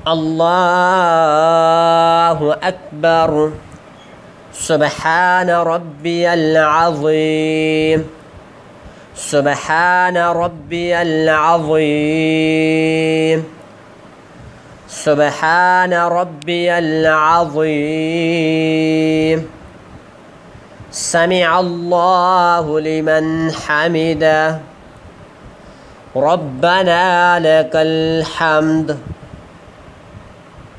الله أكبر. سبحان ربي العظيم. سبحان ربي العظيم. سبحان ربي العظيم. سمع الله لمن حمده. ربنا لك الحمد.